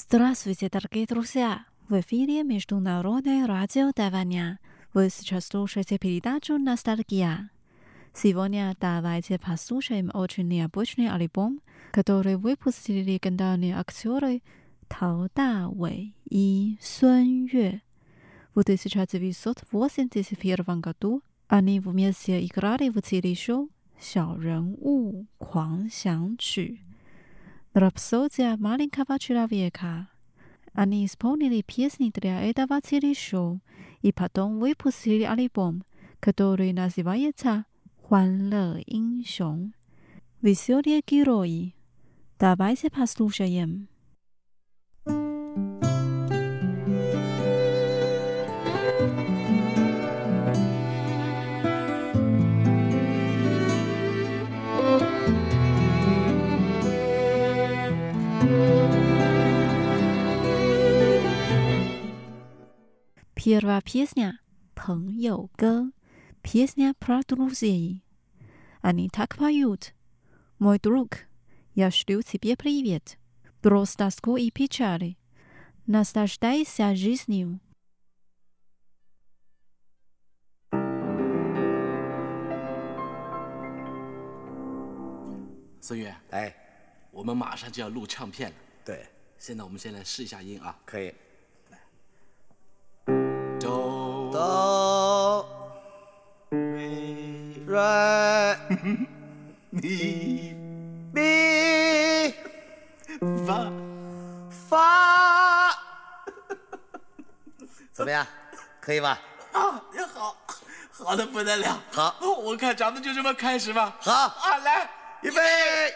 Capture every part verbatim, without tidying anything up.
Здравствуйте, дорогие друзья! В эфире Международное радио Тайваня. Вы сейчас слушаете передачу «Ностальгия». Сегодня давайте послушаем очень необычный альбом, который выпустили легендарные актеры Тао Давэй и Сун Юэ. В тысяча девятьсот восемьдесят первом году они вместе играли в телешоу «Сяо Рен У Куан Xiang Qu» «Рапсодия маленького человека». Они исполнили песни для этого телешоу и потом выпустили альбом, который называется «欢乐英雄» «Веселые герои». Давайте послушаем. Первая песня «朋友歌», песня про друзей. Они так поют: «Мой друг, я шлю тебе привет, брось тоску и печали, наслаждайся жизнью». 孙悦， 哎， 我们马上就要录唱片了。 对， 现在我们先来试一下音啊。 可以。 哆哆瑞瑞咪咪发， 发，怎么样？可以吧？ 啊，也好，好的不得了。 好， 我看咱们就这么开始吧。 好啊，来， 预备。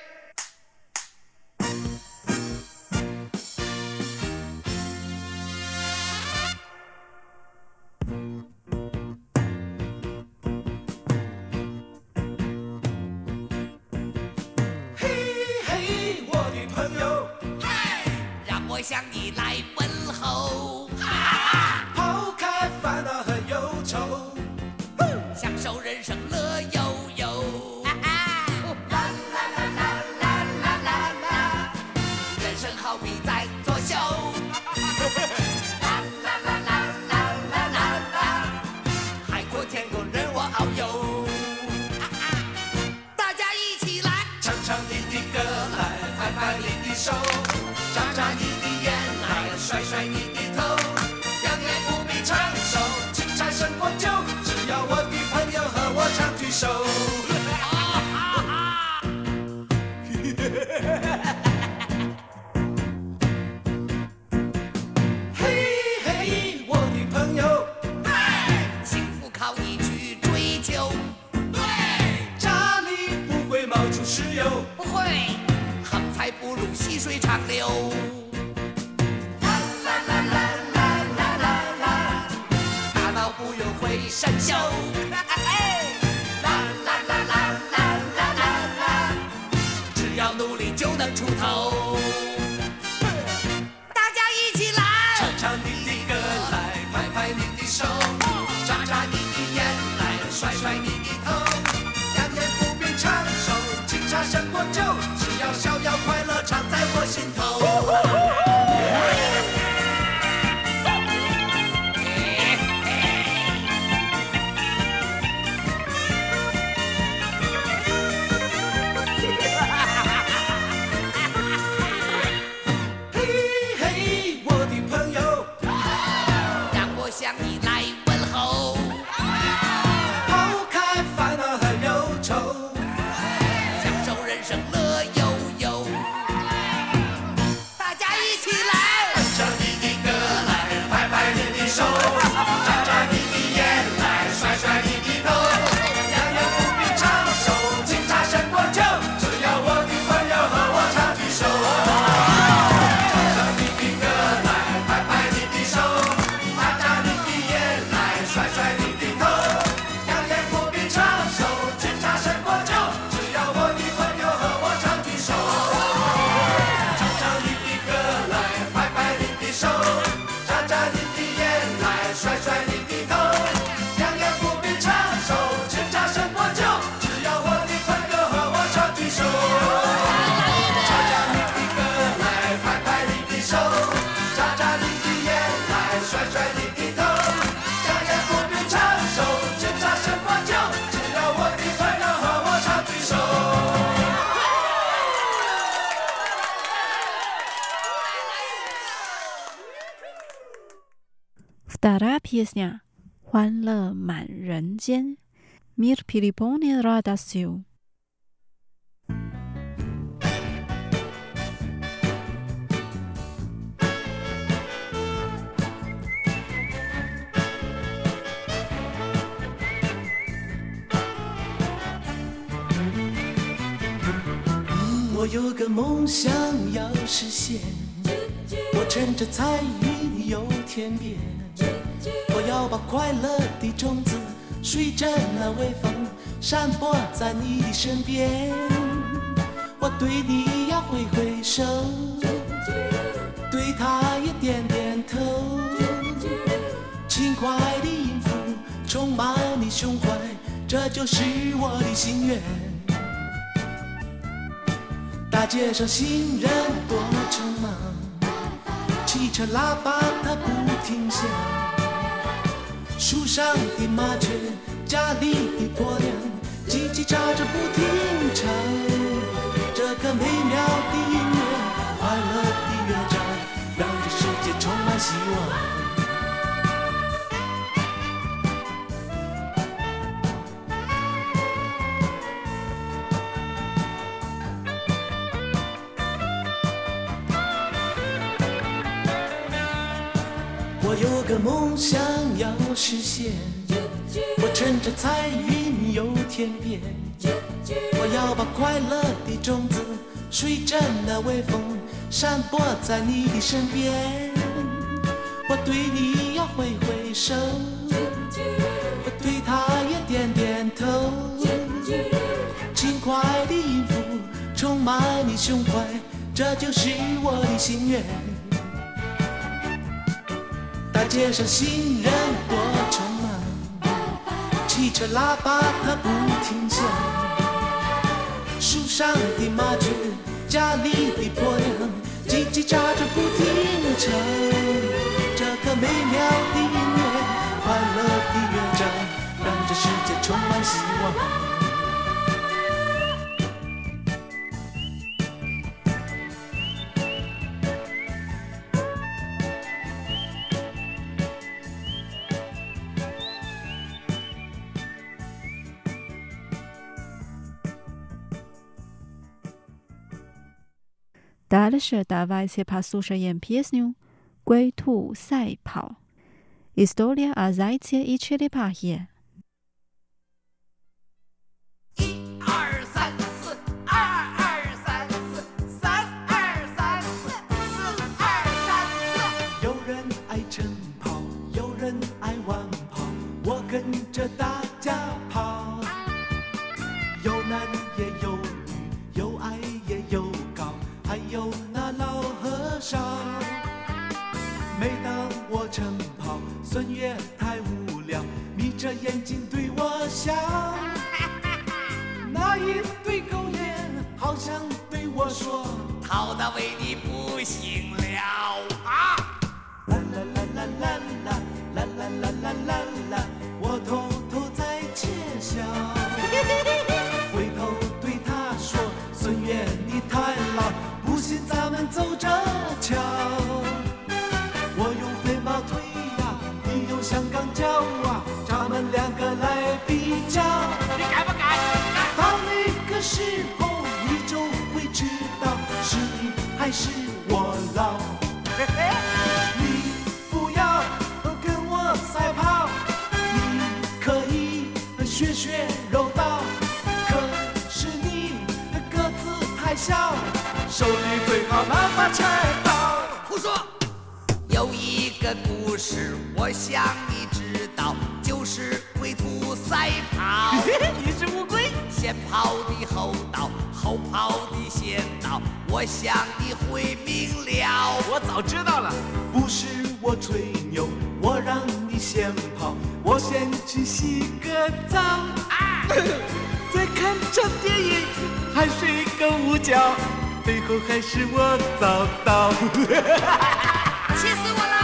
向你来问候， 抛开烦恼和忧愁， 享受人生乐悠悠。啦啦啦啦啦啦啦啦，人生好比在作秀。啦啦啦啦啦啦啦啦，海阔天空任我遨游。大家一起来， 唱唱你的歌来，拍拍你的手，眨眨你的。 甩甩你的头，两年不必长寿，青菜胜过酒，只要我的朋友和我唱句首。嘿嘿，我的朋友， 幸福靠你去追求。对， 家里不会冒出石油， 不会，横财不入细水长流。 生锈，啦啦啦啦啦啦啦啦，只要努力就能出头。大家一起来， 唱唱你的歌来，拍拍你的手，眨眨你的眼来，甩甩你的头。两年不必长寿，青茶胜过酒，只要逍遥快乐常在我心头。 向你来问候， 抛开烦恼和忧愁， 享受人生乐悠悠。 песня 欢乐满人间 Мир переполнен радостью. 我有个梦想要实现，我乘着彩云游天边，我要把快乐的种子随着那微风散播在你的身边。我对你要挥挥手，对他也点点头，轻快的音符充满你胸怀，这就是我的心愿。大街上行人多匆忙，汽车喇叭它不停响，树上的麻雀，家里的婆娘，叽叽喳喳不停唱。这个美妙的音乐，快乐的乐章，让这世界充满希望。我有个梦想要实现，我乘着彩云游天边，我要把快乐的种子随着那微风散播在你的身边。我对你要挥挥手，我对他也点点头，轻快的音符充满你胸怀，这就是我的心愿。大街上行人多匆忙，汽车喇叭它不停响，树上的麻雀，家里的婆娘，叽叽喳喳不停唱。这个美妙的音乐，快乐的乐章，让这世界充满希望。 Дальше давайте послушаем песню «龟兔赛跑» История о зайце и черепахе. 一二三四，二二三四，三二三四，四二三四。 有人爱晨跑，有人爱晚跑，我跟着大家跑。有男也有女，有矮也有高，还有那老和尚。每当我晨跑，孙越太无聊，眯着眼睛对我笑。那一对狗眼好像对我说， 逃到为你不行了啊！ 啦啦啦啦啦啦啦啦啦啦啦啦，我偷偷在窃笑。回头对他说，孙越你太老，不信咱们走着瞧。我用飞毛腿呀，你用香港脚啊，咱们两个来比较。 你敢不敢？ 到那个时候，你就会知道是你还是我老。你不要跟我赛跑，你可以学学柔道，可是你个子太小，手里最好拿把菜刀。 胡说！有一个故事，我想你知道，就是龟兔赛跑。 你是乌龟， 先跑的后到，后跑的先到，我想你会明了。 我早知道了。 不是我吹牛，我让你先跑，我先去洗个澡， 啊！ 再看场电影，还睡个午觉，最后还是我早到。 气死我了！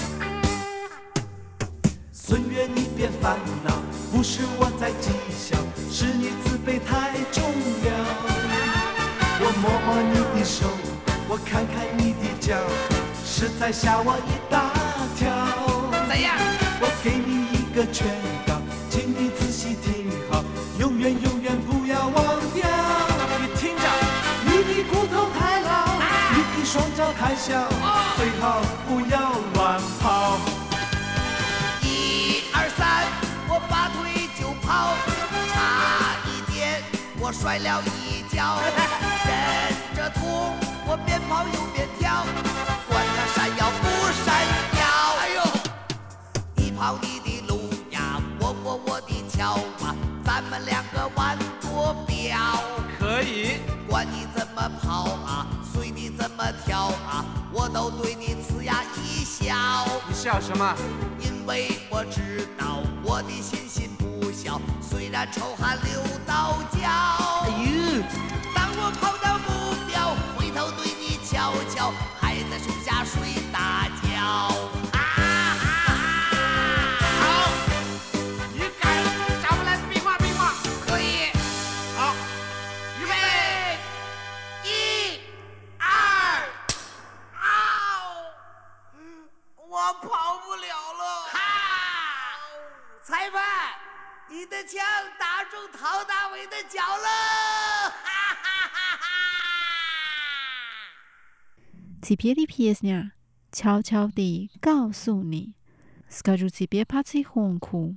孙越你别烦恼，不是我在讥笑， 看看你的脚，实在吓我一大跳。 怎样？ 我给你一个劝告，请你仔细听好，永远永远不要忘掉。你听着，你的骨头太老，啊、你的双脚太小，哦、最好不要乱跑。 一二三，我拔腿就跑，差一点我摔了一跤，忍着痛我边跑又边跳，管他闪耀不闪耀。哎呦，你跑你的路呀，我过我的桥啊，咱们两个玩多标。 可以， 管你怎么跑啊，随你怎么跳啊，我都对你呲牙一笑。 你笑什么？ 因为我知道我的信心不小，虽然臭汗流到脚。 哎呦， 当我跑到目标，回头对你瞧瞧，还在树下睡大觉。啊啊啊！ 好，你敢找我来比划比划？ 可以。 好， 预备，一、二，嗷！我跑不了了。哈！裁判，你的枪打中陶大伟的脚了。哈哈哈哈！ Теперь песня «悄悄地告诉你» Скажу тебе потихоньку.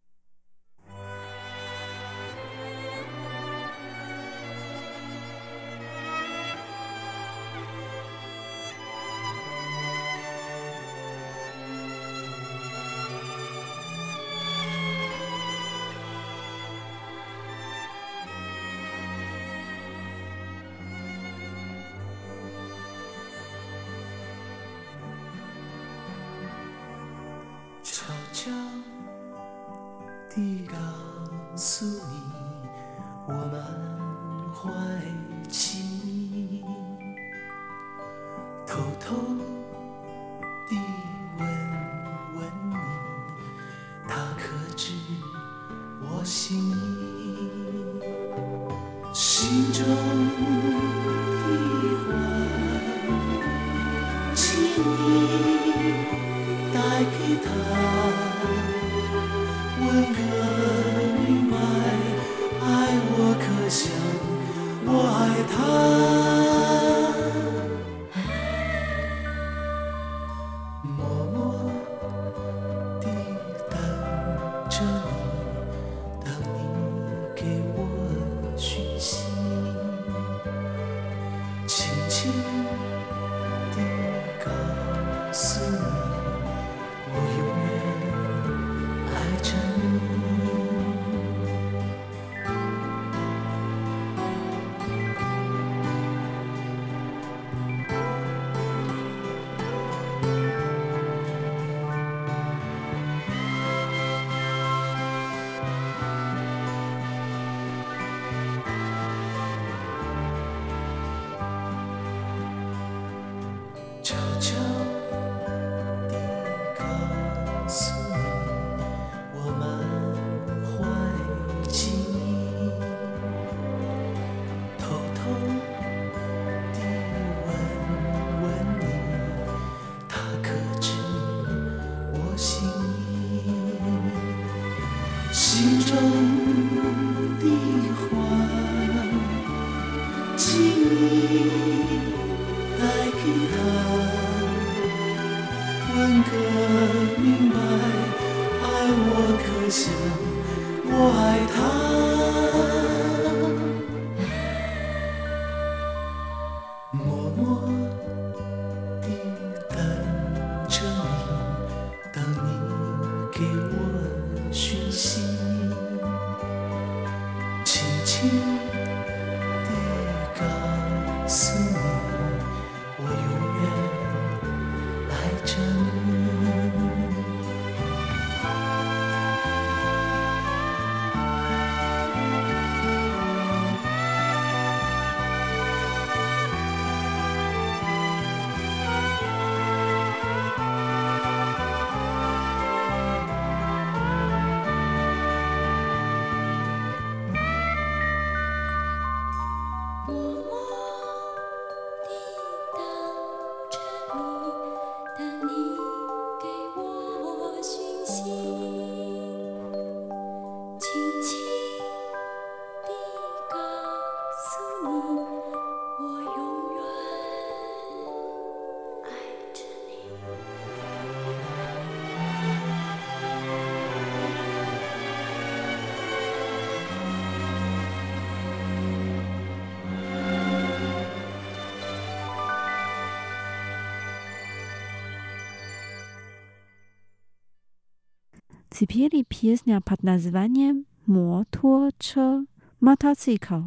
悄悄地告诉你，我满怀情意，偷偷地问问你，他可知我心意？心中的话，请你带给他，问个明白，爱我可像我爱他，默默地等着你，等你给我讯息，轻轻地告诉你，我永远爱着你。悄悄地告诉你，我满怀情意，偷偷地问问你，他可知我心意？心中的话，请你带给他，问个明白，爱我可像我爱他，默默地等着你，等你给我讯息，轻轻地告诉你，我永远爱着你。 Теперь песня под названием «Моточе мотоцикл».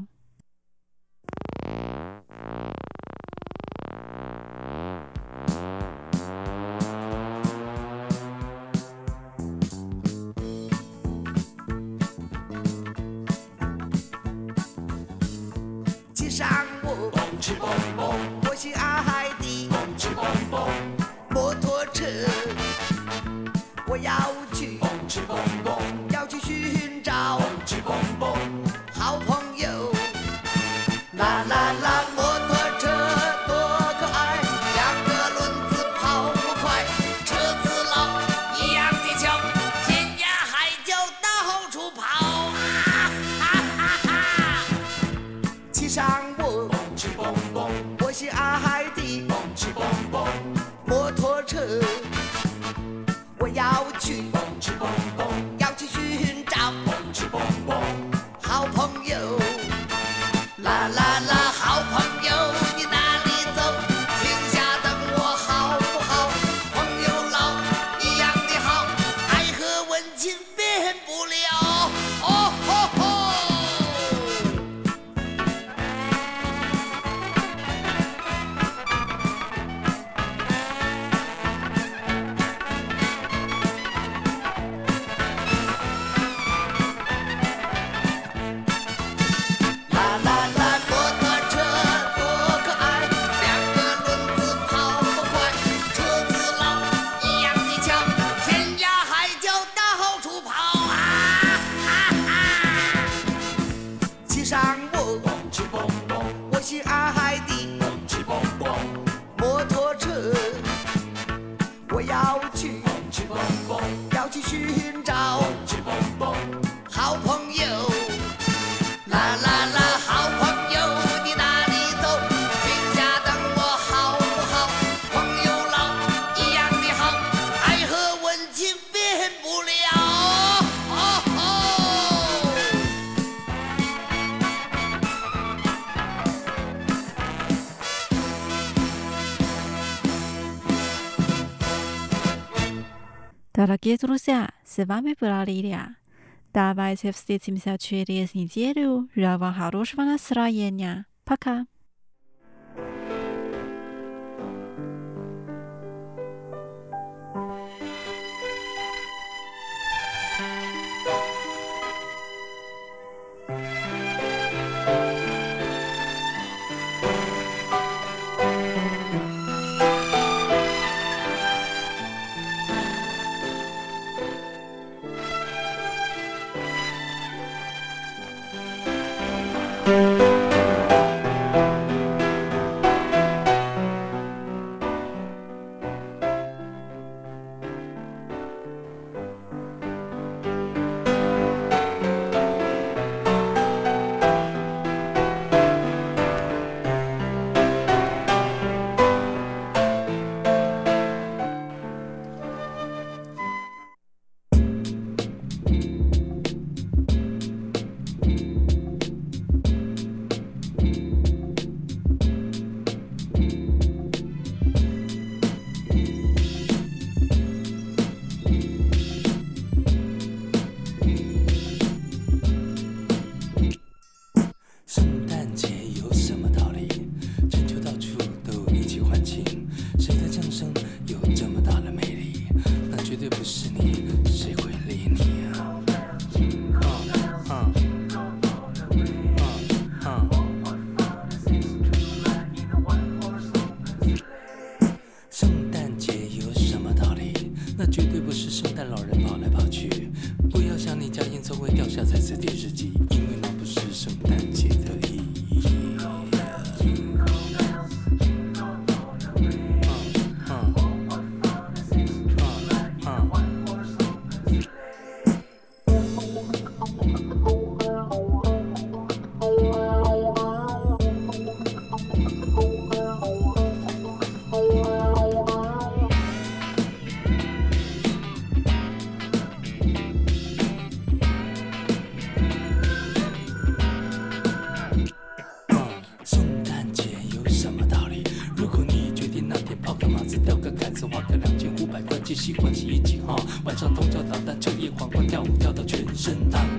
骑上我，我心爱的摩托车，我要去，要去寻找好朋友。啦啦啦，摩托车多可爱，两个轮子跑不快，车子老一样的巧，天涯海角到处跑啊！哈哈哈！骑上我，我心爱的摩托车，我要去，要去寻找好朋友。啦啦啦，好朋友，你哪里走？停下等我好不好？朋友老一样的好，爱和温情变不了。哦吼吼！啦啦啦，摩托车多可爱，两个轮子跑不快，车子老一样的巧，天涯海角到处跑啊！哈哈！骑上我，我心爱的摩托车，我要去，要去寻找好朋友。啦啦啦，好朋友，你哪里走？停下等我好不好？朋友老一样的好，爱和温情变不了。哦吼！ Дорогие друзья, с вами была Лилия. Давайте встретимся через неделю. Желаю вам хорошего настроения. Пока.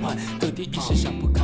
各地一时想不开。